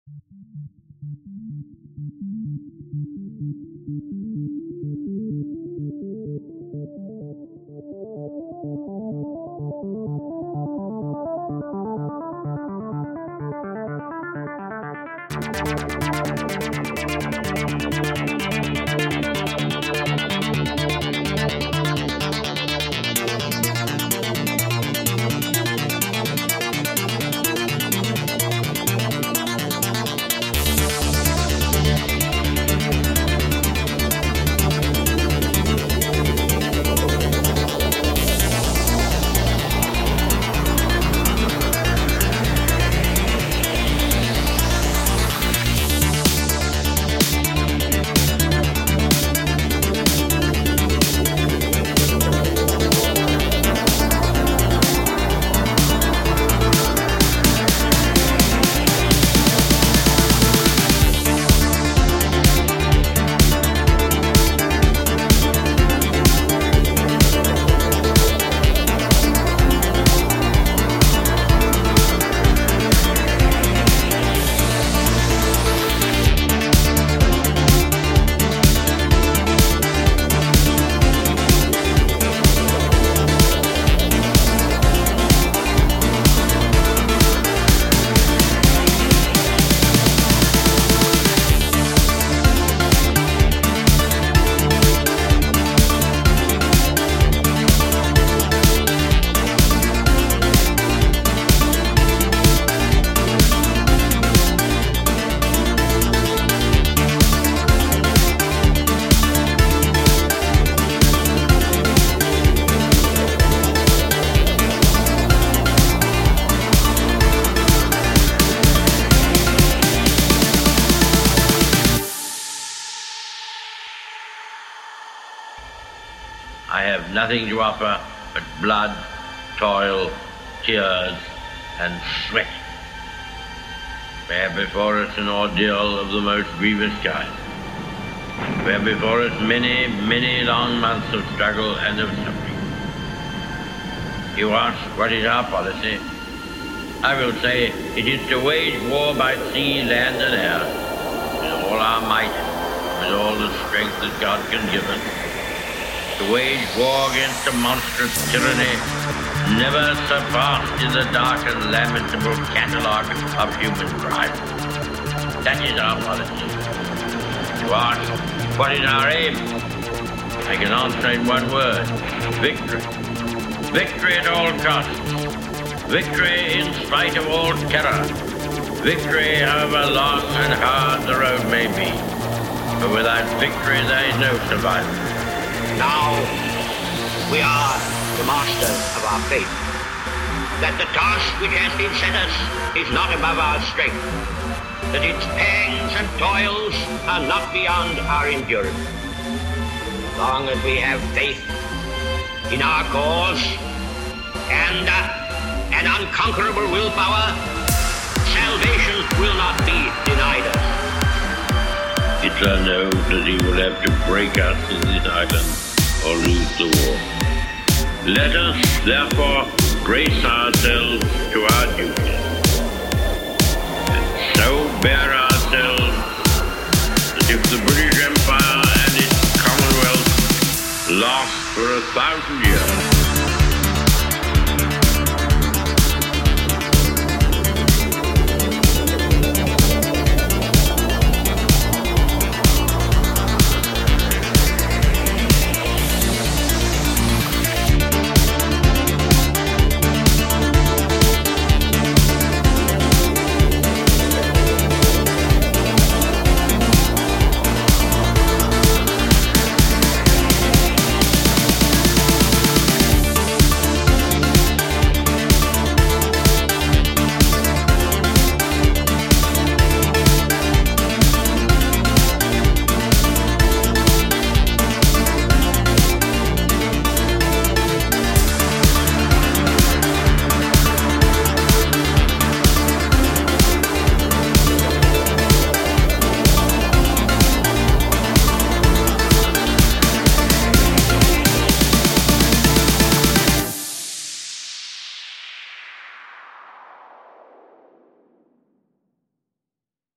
I have nothing to offer but blood, toil, tears, and sweat. We have before us an ordeal of the most grievous kind. We have before us many, many long months of struggle and of suffering. You ask, what is our policy? I will say it is to wage war by sea, land, and air, with all our might, with all the strength that God can give us. To wage war against a monstrous tyranny never surpassed in the dark and lamentable catalogue of human crime. That is our policy. You ask, what is our aim? I can answer in one word: victory. Victory at all costs. Victory in spite of all terror. Victory however long and hard the road may be. For without victory there is no survival. Now we are the masters of our fate. That the task which has been set us is not above our strength. That its pangs and toils are not beyond our endurance. As long as we have faith in our cause and an unconquerable willpower, salvation will not be denied us. Hitler knows that he will have to break us in this island or lose the war. Let us, therefore, brace ourselves to our duty, and so bear ourselves that if the British Empire and its Commonwealth last for 1,000 years,